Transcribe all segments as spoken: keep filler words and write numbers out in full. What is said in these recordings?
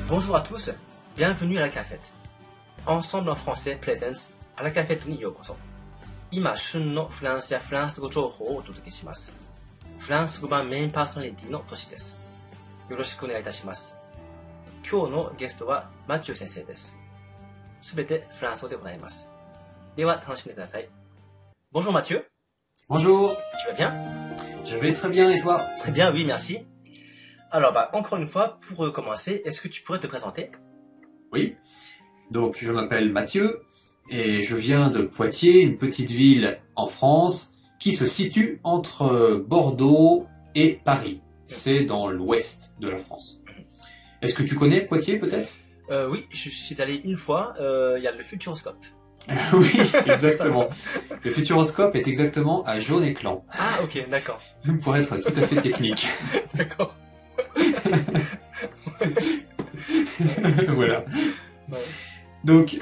Bonjour à tous, bienvenue à la cafette. Ensemble en français Presents à la cafetteにようこそ。今旬のフランスやフランス語情報をお届けします。フランス語版メインパーソナリティのトシです。よろしくお願いいたします。今日のゲストはマチュー先生です。すべてフランス語で行います。では楽しんでください。Bonjour Mathieu. Bonjour. Tu vas bien? Je vais très bien et toi? Très bien, oui, merci. Alors, bah, encore une fois, pour commencer, est-ce que tu pourrais te présenter? Oui. Donc, je m'appelle Mathieu et je viens de Poitiers, une petite ville en France qui se situe entre Bordeaux et Paris. C'est dans l'ouest de la France. Est-ce que tu connais Poitiers peut-être? euh, Oui, je suis allé une fois. Il euh, y a le Futuroscope. Oui, exactement. Le Futuroscope est exactement à Jaune-Éclan. Ah, ok, d'accord. Pour être tout à fait technique. D'accord. Voilà. Ouais. Donc,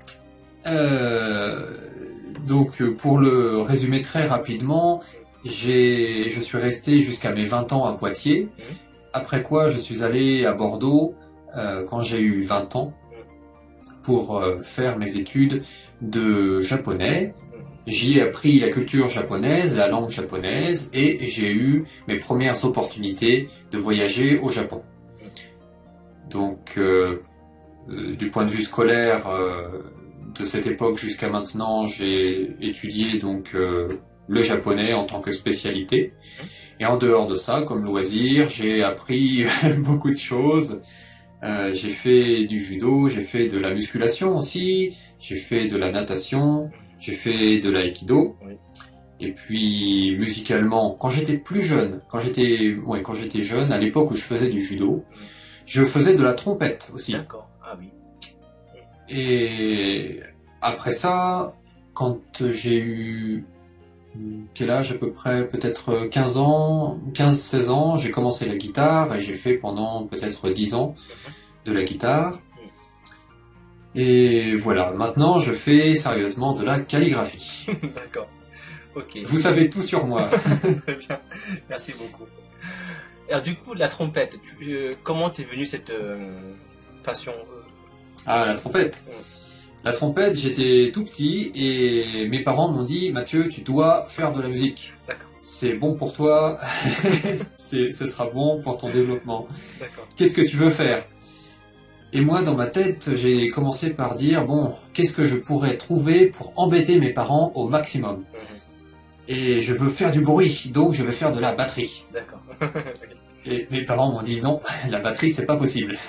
euh, donc pour le résumer très rapidement, j'ai, je suis resté jusqu'à mes vingt ans à Poitiers. Mmh. Après quoi, je suis allé à Bordeaux euh, quand j'ai eu vingt ans pour euh, faire mes études de japonais. J'y ai appris la culture japonaise, la langue japonaise, et j'ai eu mes premières opportunités de voyager au Japon. Donc, euh, euh, du point de vue scolaire, euh, de cette époque jusqu'à maintenant, j'ai étudié donc euh, le japonais en tant que spécialité. Et en dehors de ça, comme loisir, j'ai appris beaucoup de choses. Euh, j'ai fait du judo, j'ai fait de la musculation aussi, j'ai fait de la natation. J'ai fait de l'aïkido. Oui. Et puis musicalement, quand j'étais plus jeune, quand j'étais, ouais, quand j'étais jeune, à l'époque où je faisais du judo, je faisais de la trompette aussi. D'accord. Ah oui. Et après ça, quand j'ai eu quel âge à peu près, peut-être quinze ans, quinze seize ans, j'ai commencé la guitare et j'ai fait pendant peut-être dix ans de la guitare. Et voilà, maintenant je fais sérieusement de la calligraphie. D'accord, ok. Vous savez tout sur moi. Très bien, merci beaucoup. Alors du coup, la trompette, tu, euh, comment t'es venue cette euh, passion euh... Ah, la trompette. Mm. La trompette, j'étais tout petit et mes parents m'ont dit « Mathieu, tu dois faire de la musique. D'accord. C'est bon pour toi, c'est, ce sera bon pour ton développement. D'accord. Qu'est-ce que tu veux faire ?» Et moi, dans ma tête, j'ai commencé par dire, bon, qu'est-ce que je pourrais trouver pour embêter mes parents au maximum? Mm-hmm. Et je veux faire du bruit, donc je vais faire de la batterie. D'accord. Et mes parents m'ont dit, non, la batterie, c'est pas possible.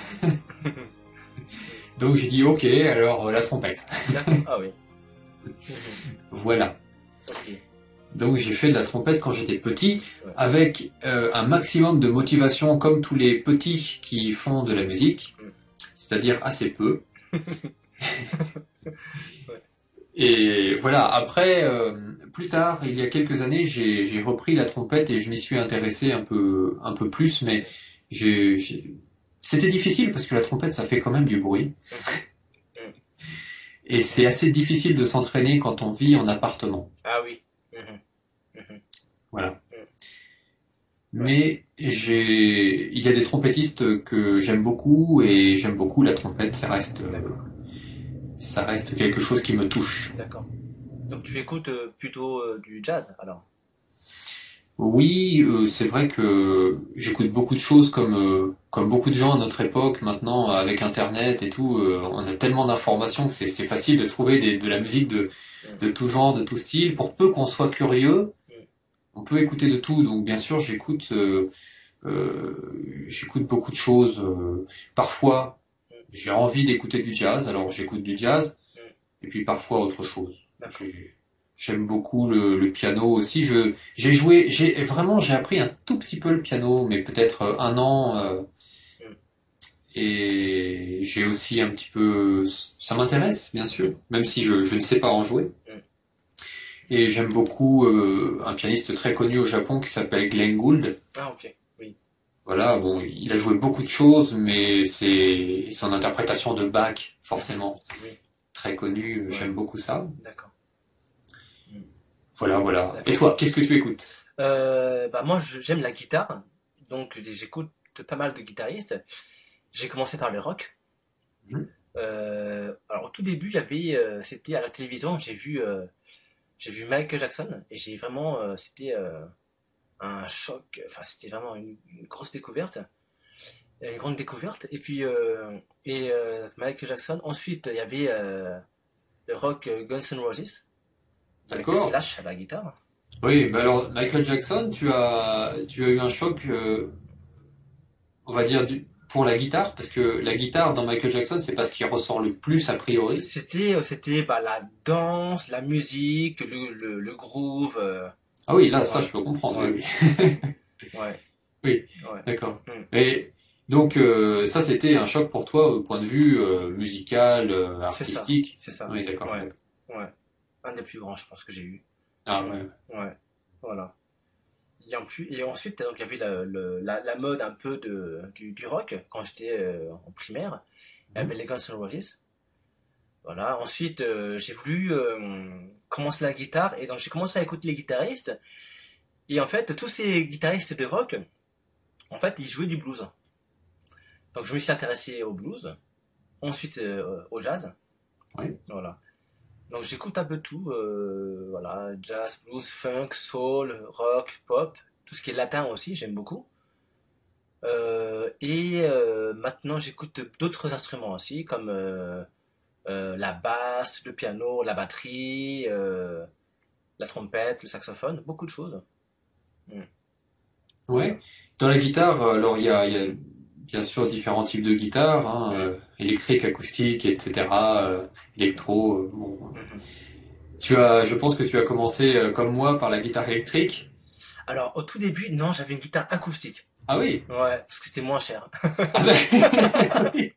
Donc j'ai dit, ok, alors euh, la trompette. D'accord. Ah oui. Voilà. Okay. Donc j'ai fait de la trompette quand j'étais petit, ouais. avec euh, un maximum de motivation, comme tous les petits qui font de la musique. Mm. C'est-à-dire assez peu. Ouais. Et voilà, après, euh, plus tard, il y a quelques années, j'ai, j'ai repris la trompette et je m'y suis intéressé un peu, un peu plus, mais j'ai, j'ai... c'était difficile parce que la trompette, ça fait quand même du bruit. Mm-hmm. Et c'est assez difficile de s'entraîner quand on vit en appartement. Ah oui. Mm-hmm. Mm-hmm. Voilà. Mais j'ai, il y a des trompettistes que j'aime beaucoup et j'aime beaucoup la trompette. Ça reste, euh, ça reste quelque chose qui me touche. D'accord. Donc tu écoutes euh, plutôt euh, du jazz alors? Oui, euh, c'est vrai que j'écoute beaucoup de choses comme euh, comme beaucoup de gens à notre époque maintenant avec Internet et tout. Euh, on a tellement d'informations que c'est c'est facile de trouver des, de la musique de de tout genre, de tout style. Pour peu qu'on soit curieux. On peut écouter de tout, donc bien sûr j'écoute euh, euh, j'écoute beaucoup de choses. Euh, parfois j'ai envie d'écouter du jazz, alors j'écoute du jazz, et puis parfois autre chose. J'ai, j'aime beaucoup le, le piano aussi. Je j'ai joué, j'ai vraiment j'ai appris un tout petit peu le piano, mais peut-être un an. Euh, et j'ai aussi un petit peu, ça m'intéresse bien sûr, même si je je ne sais pas en jouer. Et j'aime beaucoup euh, un pianiste très connu au Japon qui s'appelle Glenn Gould. Ah ok, oui. Voilà, bon, il a joué beaucoup de choses, mais c'est son interprétation de Bach, forcément, oui. Très connue. Ouais. J'aime beaucoup ça. D'accord. Voilà, voilà. D'accord. Et toi, qu'est-ce que tu écoutes? euh, bah moi, j'aime la guitare, donc j'écoute pas mal de guitaristes. j'ai commencé par le rock. Mhm. Euh, alors au tout début, il y avait, euh, c'était à la télévision, j'ai vu, euh, j'ai vu Michael Jackson et j'ai vraiment, euh, c'était euh, un choc. Enfin, c'était vraiment une, une grosse découverte, une grande découverte. Et puis euh, et euh, Michael Jackson. Ensuite, il y avait euh, le rock euh, Guns N' Roses avec D'accord. Slash à la guitare. Oui, bah alors Michael Jackson, tu as, tu as eu un choc, euh, on va dire, du, pour la guitare, parce que la guitare dans Michael Jackson, c'est pas ce qui ressort le plus a priori. C'était, euh, c'était bah, la danse, la musique, le, le, le groove. euh, Ah oui, là, ça, ouais, je peux comprendre, ouais, oui, oui. ouais, Oui, ouais. d'accord. Hmm, Et donc, euh, ça, c'était un choc pour toi au point de vue euh, musical, euh, c'est ça, artistique. c'est ça. Oui, d'accord, Ouais, d'accord. ouais. Un des plus grands, je pense que j'ai eu. Ah Hmm, ouais. ouais, voilà. Et, en plus, et ensuite, donc, il y avait la, le- la, la mode un peu de, du, du rock quand j'étais euh, en primaire. Il y Mhm. avait les Guns N' Roses. Voilà. Ensuite, euh, j'ai voulu euh, commencer la guitare et donc j'ai commencé à écouter les guitaristes. Et en fait, tous ces guitaristes de rock, en fait, ils jouaient du blues. Donc je me suis intéressé au blues, ensuite euh, au jazz. Oui. Voilà. Donc j'écoute un peu tout, euh, voilà, jazz, blues, funk, soul, rock, pop, tout ce qui est latin aussi, j'aime beaucoup. Euh, et euh, maintenant j'écoute d'autres instruments aussi, comme euh, euh, la basse, le piano, la batterie, euh, la trompette, le saxophone, beaucoup de choses. Mm. Ouais. Voilà. Dans la guitare, alors il y a, il y a bien sûr différents types de guitares, hein, Mm. euh, électrique, acoustique, et cetera. euh, électro. euh, bon. Mhm. Tu as, je pense que tu as commencé euh, comme moi par la guitare électrique. Alors au tout début, non, j'avais une guitare acoustique. Ah oui. Ouais, parce que c'était moins cher. Ah ben, oui.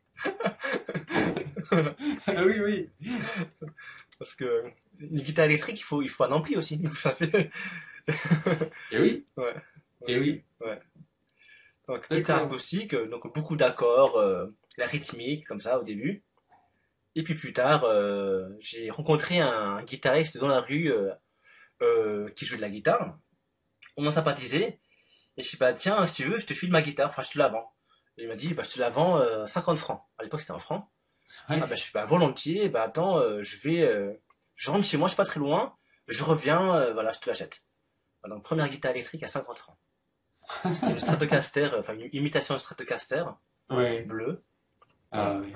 Ah oui, oui. Parce que une guitare électrique, il faut, il faut un ampli aussi. Donc ça fait. Et oui, Ouais, et ouais, oui. ouais. Donc guitare D'accord. acoustique, euh, donc beaucoup d'accords, euh, la rythmique, comme ça au début. Et puis plus tard, euh, j'ai rencontré un guitariste dans la rue euh, euh, qui joue de la guitare. On a sympathisé. Et je sais pas, tiens, si tu veux, je te file ma guitare, enfin je te la vends. Et il m'a dit, bah, je te la vends euh, cinquante francs. À l'époque, c'était en francs. Ah Ouais. bah je fais pas volontiers, bah attends, euh, je vais, euh, je rentre chez moi, je suis pas très loin, je reviens, euh, voilà, je te l'achète. Voilà, donc première guitare électrique à cinquante francs. C'était une Stratocaster, euh, enfin une imitation de Stratocaster, Ouais. bleue. Ah Voilà. oui.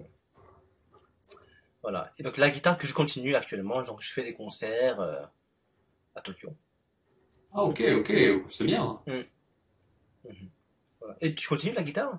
Voilà. Et donc la guitare que je continue actuellement, donc je fais des concerts euh, à Tokyo. Ah ok, ok, c'est bien. Mm. Mhm. Voilà. Et tu continues la guitare?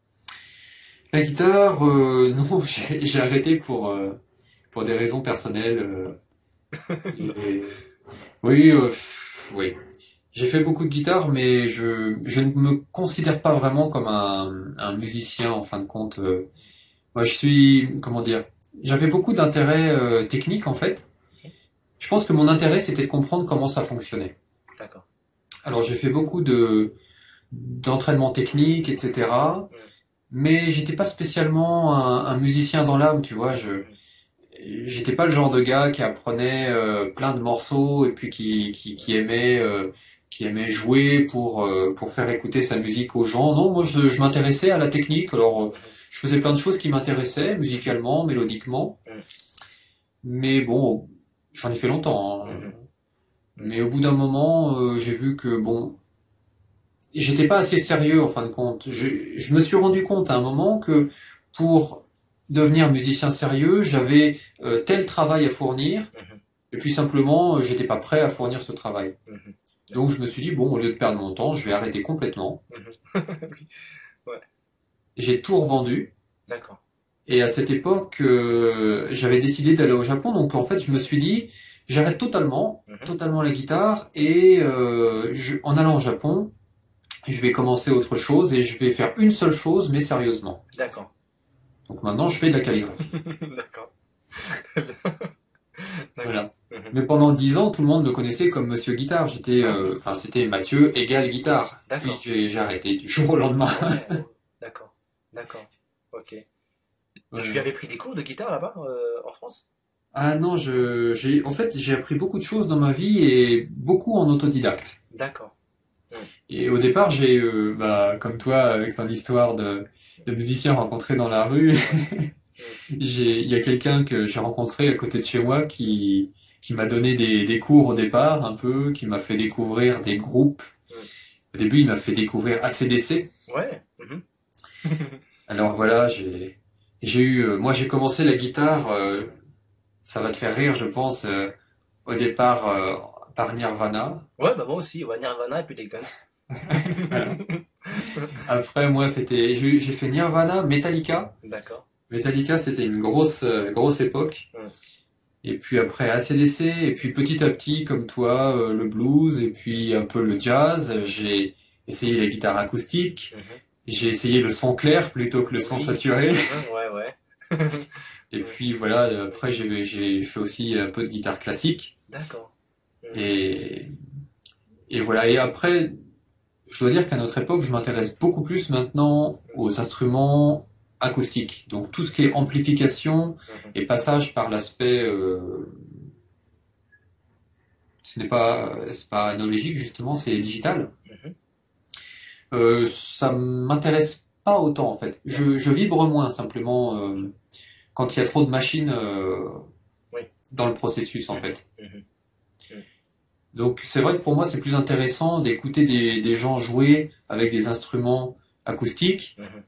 La guitare, euh, non, j'ai j'ai arrêté pour euh, pour des raisons personnelles. euh, c'est- oui, euh, pff, oui. J'ai fait beaucoup de guitare, mais je je ne me considère pas vraiment comme un un musicien en fin de compte. euh. Moi, je suis, comment dire, j'avais beaucoup d'intérêt euh, technique en fait. Je pense que mon intérêt c'était de comprendre comment ça fonctionnait. D'accord. Alors j'ai fait beaucoup de d'entraînement technique, et cetera. Mm. Mais j'étais pas spécialement un, un musicien dans l'âme, tu vois. Je Mhm. j'étais pas le genre de gars qui apprenait euh, plein de morceaux et puis qui qui, qui aimait euh, qui aimait jouer pour euh, pour faire écouter sa musique aux gens. Non, moi je, je m'intéressais à la technique. Alors euh, Mhm. je faisais plein de choses qui m'intéressaient musicalement, mélodiquement. Mhm. Mais bon, j'en ai fait longtemps, hein. Mhm. Mais au bout d'un moment, euh, j'ai vu que bon, j'étais pas assez sérieux en fin de compte. Je, je me suis rendu compte à un moment que pour devenir musicien sérieux, j'avais euh, tel travail à fournir, Mhm. et puis simplement, euh, j'étais pas prêt à fournir ce travail. Mhm. Donc D'accord. je me suis dit, bon, au lieu de perdre mon temps, je vais arrêter complètement. Mhm. Oui. Ouais. J'ai tout revendu, D'accord. et à cette époque, euh, j'avais décidé d'aller au Japon, donc en fait, je me suis dit, j'arrête totalement, Mhm. totalement la guitare, et euh, je- en allant au Japon, je vais commencer autre chose, et je vais faire une seule chose, mais sérieusement. D'accord. Donc maintenant, je fais de la calligraphie. D'accord. Très bien. D'accord. Voilà. Mhm. Mais pendant dix ans, tout le monde me connaissait comme Monsieur Guitare. J'étais, Ah, euh, enfin, c'était Mathieu égal guitare. Puis d'accord. j'ai j'ai arrêté du jour au lendemain. Ouais. D'accord. D'accord. Ok. Tu Voilà. avais pris des cours de guitare là-bas, euh, en France? Ah non, je, j'ai, en fait, j'ai appris beaucoup de choses dans ma vie et beaucoup en autodidacte. D'accord. Et au départ, j'ai, euh, bah, comme toi, avec ton histoire de, de musicien rencontré dans la rue, j'ai, il y a quelqu'un que j'ai rencontré à côté de chez moi qui, qui m'a donné des, des cours au départ, un peu, qui m'a fait découvrir des groupes. Au début, il m'a fait découvrir A C D C. Ouais. Mhm. Alors voilà, j'ai, j'ai eu, euh, moi j'ai commencé la guitare, euh, ça va te faire rire, je pense, euh, au départ euh, par Nirvana. Ouais, bah moi aussi, ouais, Nirvana et puis les Guns. Voilà. Après, moi, c'était, j'ai j'ai fait Nirvana, Metallica. D'accord. Metallica, c'était une grosse, euh, grosse époque. Mm. Et puis après, A C D C, et puis petit à petit, comme toi, euh, le blues, et puis un peu le jazz. J'ai essayé la guitare acoustique. Mhm. J'ai essayé le son clair plutôt que le son Oui. saturé. Mhm, ouais, ouais. Et Mm. puis voilà, après, j'ai j'ai fait aussi un peu de guitare classique. D'accord. Mm. Et, et voilà. Et après, je dois dire qu'à notre époque, je m'intéresse beaucoup plus maintenant aux instruments acoustiques. Donc tout ce qui est amplification Mhm. et passage par l'aspect, euh, ce n'est pas, c'est pas analogique justement, c'est digital. Mhm. Euh, ça m'intéresse pas autant en fait. Je, je vibre moins simplement euh, quand il y a trop de machines euh, Oui. dans le processus en Mhm. fait. Mhm. Mhm. Donc c'est vrai que pour moi c'est plus intéressant d'écouter des, des gens jouer avec des instruments acoustiques. Mhm.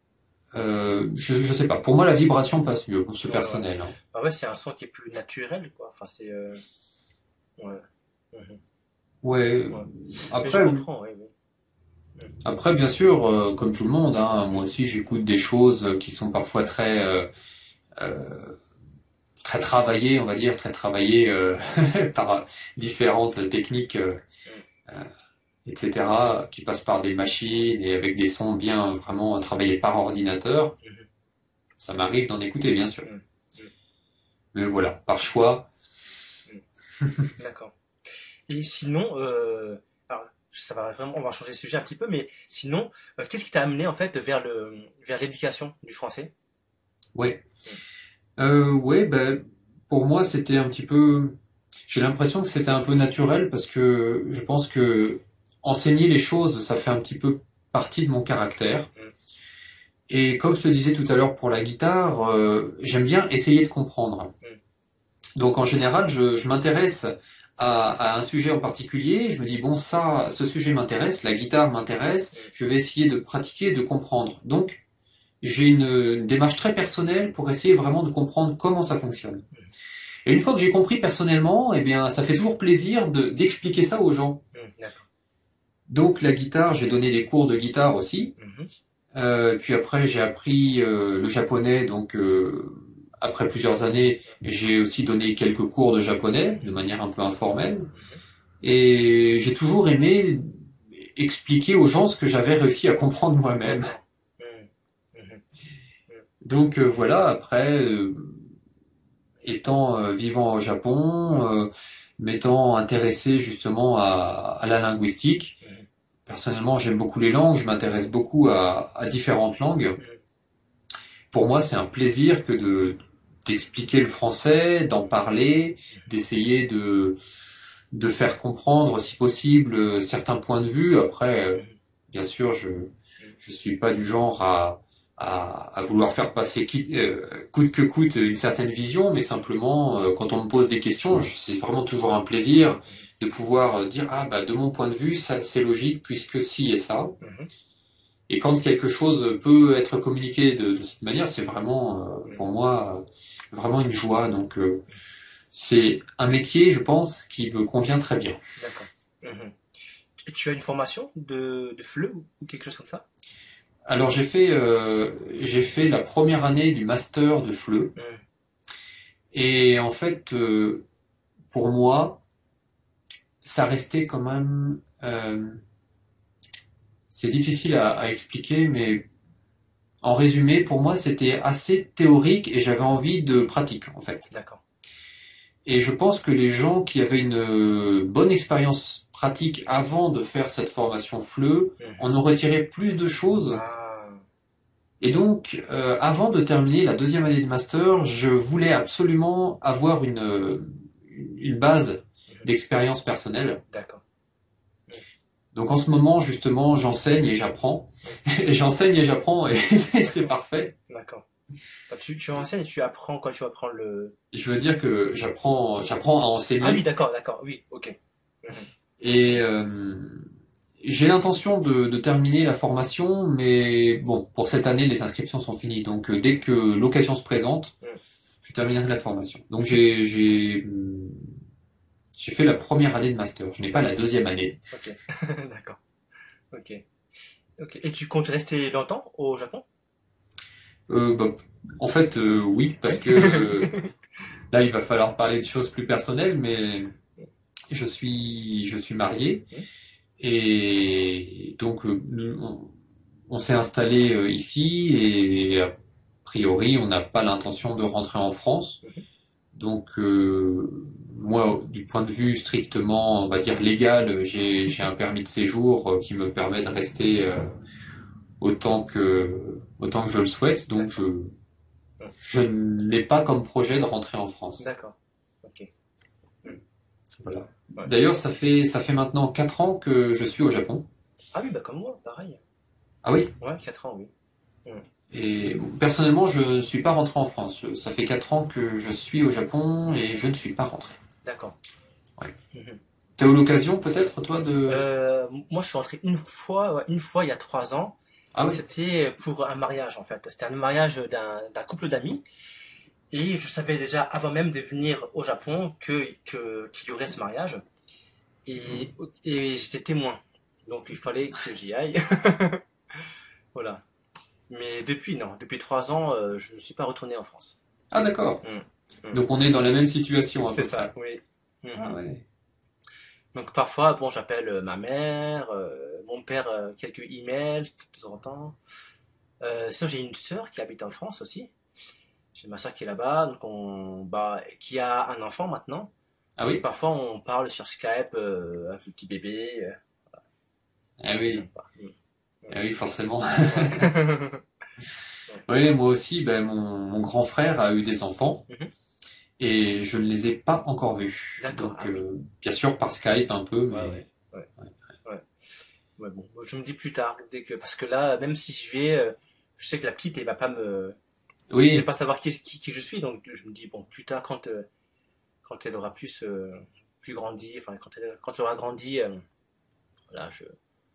Euh, je, je sais pas. Pour moi, la vibration passe mieux. C'est Ouais, ouais. personnel. Hein. Bah ouais, c'est un son qui est plus naturel, quoi. Enfin, c'est. euh, Ouais. Mhm. Ouais. Ouais. Mais je Après, comprends, oui, oui. après, bien sûr, euh, comme tout le monde, hein, moi aussi, j'écoute des choses qui sont parfois très, euh, euh, très travaillées, on va dire, très travaillées euh, par différentes techniques, euh, euh, et cetera, qui passent par des machines et avec des sons bien vraiment travaillés par ordinateur. Mhm. Ça m'arrive d'en écouter, bien sûr. Mhm. Mais voilà, par choix. D'accord. Et sinon, euh, alors, ça va vraiment, on va changer de sujet un petit peu, mais sinon, euh, qu'est-ce qui t'a amené en fait vers le, vers l'éducation du français? Ouais. Euh, ouais, ben, pour moi, c'était un petit peu. J'ai l'impression que c'était un peu naturel parce que je pense que enseigner les choses, ça fait un petit peu partie de mon caractère. Mm. Et comme je te disais tout à l'heure pour la guitare, euh, j'aime bien essayer de comprendre. Mm. Donc en général, je, je m'intéresse à, à un sujet en particulier. Je me dis bon, ça, ce sujet m'intéresse, la guitare m'intéresse. Mm. Je vais essayer de pratiquer, de comprendre. Donc j'ai une, une démarche très personnelle pour essayer vraiment de comprendre comment ça fonctionne. Et une fois que j'ai compris personnellement, eh bien, ça fait toujours plaisir de, d'expliquer ça aux gens. Mm. D'accord. Donc la guitare, j'ai donné des cours de guitare aussi. Mhm. Euh, puis après, j'ai appris euh, le japonais. Donc euh, après plusieurs années, j'ai aussi donné quelques cours de japonais de manière un peu informelle. Et j'ai toujours aimé expliquer aux gens ce que j'avais réussi à comprendre moi-même. D'accord. Mm. Mhm. Donc euh, voilà, après, euh, étant euh, vivant au Japon, euh, m'étant intéressé justement à, à la linguistique. Mhm. Personnellement, j'aime beaucoup les langues, je m'intéresse beaucoup à, à différentes langues. Mhm. Pour moi, c'est un plaisir que de d'expliquer le français, d'en parler, d'essayer de de faire comprendre, si possible, certains points de vue. Après, euh, Mhm. bien sûr, je je suis pas du genre à à, à vouloir faire passer qui- euh, coûte que coûte une certaine vision, mais simplement euh, quand on me pose des questions, je- c'est vraiment toujours un plaisir de pouvoir euh, dire ah bah de mon point de vue ça c'est logique puisque si et ça. Mhm. Et quand quelque chose peut être communiqué de, de cette manière, c'est vraiment euh, Mhm. pour moi euh, vraiment une joie. Donc euh, c'est un métier, je pense, qui me convient très bien. D'accord. Mhm. Et tu as une formation de, de F L E ou ou quelque chose comme ça? Alors j'ai fait euh, j'ai fait la première année du master de F L E Mhm. et en fait euh, pour moi ça restait quand même euh, c'est difficile à, à expliquer mais en résumé pour moi c'était assez théorique et j'avais envie de pratique en fait. D'accord. Et je pense que les gens qui avaient une euh, bonne expérience pratique avant de faire cette formation F L E Mhm. en ont retiré plus de choses. Ah. Et donc, euh, avant de terminer la deuxième année de master, je voulais absolument avoir une, euh, une base Mhm. d'expérience personnelle. D'accord. Donc en ce moment, justement, j'enseigne et j'apprends. Et j'enseigne et j'apprends et c'est parfait. D'accord. Tu, tu enseignes et tu apprends quand tu apprends le... Je veux dire que j'apprends, j'apprends à enseigner. Ah oui, d'accord, d'accord, oui, ok. Mhm. Et euh, j'ai l'intention de, de terminer la formation, mais bon, pour cette année, les inscriptions sont finies. Donc euh, dès que l'occasion se présente, Mhm. je terminerai la formation. Donc j'ai j'ai j'ai fait la première année de master. Je n'ai pas la deuxième année. Ok, d'accord. Ok. Ok. Et tu comptes rester longtemps au Japon? Euh, bah, en fait, euh, oui, parce que euh, là, il va falloir parler de choses plus personnelles, mais je suis je suis marié Mhm. et donc euh, on, on s'est installé euh, ici et a priori, on n'a pas l'intention de rentrer en France. Mhm. Donc euh, moi, du point de vue strictement, on va dire légal, j'ai j'ai un permis de séjour euh, qui me permet de rester euh, autant que autant que je le souhaite. Donc je Mhm. je n'ai pas comme projet de rentrer en France. D'accord. Ok. Mhm. Voilà. Ouais. D'ailleurs, ça fait ça fait maintenant quatre ans que je suis au Japon. Ah oui, bah comme moi, pareil. Ah oui. Ouais, quatre ans, oui. Mhm. Et personnellement, je ne suis pas rentré en France. Ça fait quatre ans que je suis au Japon et je ne suis pas rentré. D'accord. Ouais. Mhm. T'as eu l'occasion peut-être toi de... Euh, moi, je suis rentré une fois, ouais, une fois il y a trois ans. Ah oui. C'était pour un mariage, en fait. C'était un mariage d'un d'un couple d'amis. Et je savais déjà, avant même de venir au Japon, que, que, qu'il y aurait ce mariage. Et, et j'étais témoin. Donc, il fallait que j'y aille. Voilà. Mais depuis, non. Depuis trois ans, euh, je ne suis pas retourné en France. Ah d'accord. Mm. Mm. Donc on est dans la même situation à C'est peu ça, près. oui. Ah Mhm. ouais. Donc parfois, bon, j'appelle euh, ma mère, euh, mon père, euh, quelques emails de temps en temps. Euh, sinon, j'ai une sœur qui habite en France aussi. J'ai ma sœur qui est là-bas, donc on, bah, qui a un enfant maintenant. Ah Et oui. parfois, on parle sur Skype euh, avec le petit bébé. euh, Ah C'est oui. sympa. Mm. Ah oui, forcément. Ouais. Oui, moi aussi, ben, mon, mon grand frère a eu des enfants Mhm. et je ne les ai pas encore vus. D'accord, Donc ah oui. euh, bien sûr par Skype un peu, Ouais, mais ouais, ouais, ouais. Ouais, bon, je me dis plus tard, dès que, parce que là, même si je vais, euh, je sais que la petite, elle va pas me, elle va oui. pas savoir qui, qui, qui je suis, donc je me dis, bon, plus tard, quand, euh, quand elle aura plus, euh, plus grandi, enfin, quand elle, quand elle aura grandi, euh, voilà, je,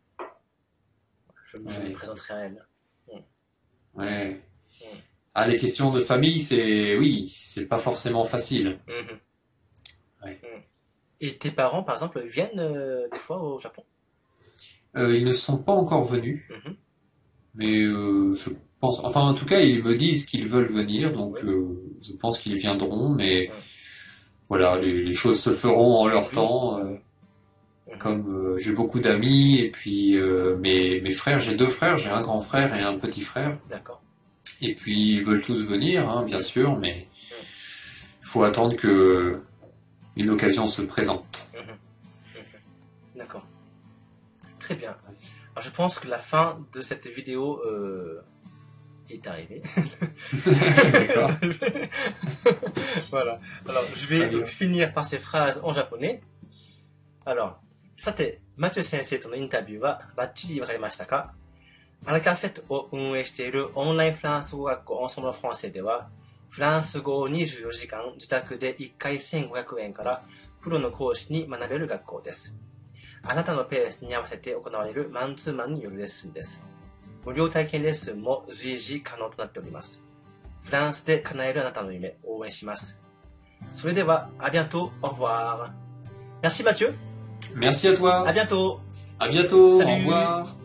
je, je me Ouais. présenterai à elle. Mm. Ouais. Mm. Ah, les questions de famille, c'est oui, c'est pas forcément facile. Mhm. Ouais. Mm. Et tes parents, par exemple, viennent euh, des fois au Japon? Euh, ils ne sont pas encore venus, Mhm. mais euh, je pense, enfin en tout cas, ils me disent qu'ils veulent venir, donc Oui. euh, je pense qu'ils viendront, mais Mm. voilà, les, les choses se feront en leur Oui. temps. euh, Mhm. comme euh, j'ai beaucoup d'amis et puis euh, mes mes frères, j'ai deux frères, j'ai un grand frère et un petit frère, D'accord. et puis ils veulent tous venir, hein, bien Mm. sûr, mais Mm. il faut attendre que une occasion se présente. Mhm. Mhm. D'accord. Très bien. Alors, je pense que la fin de cette vidéo euh, est arrivée. D'accord. Voilà. Alors, je vais Très bien. donc finir par ces phrases en japonais. Alors, さて、マチュ先生とのインタビューはバッチリわかりましたか？アラカフェットを運営しているオンラインフランス語学校オンソムロフランセでは、フランス語をにじゅうよじかん自宅でいっかいせんごひゃくえんからプロの講師に学べる学校です。あなたのペースに合わせて行われるマンツーマンによるレッスンです。無料体験レッスンも随時可能となっております。フランスで叶えるあなたの夢、応援します。それでは、à bientôt, au revoir. Merci Mathieu. Merci à toi. À bientôt. À bientôt. Salut. Au revoir.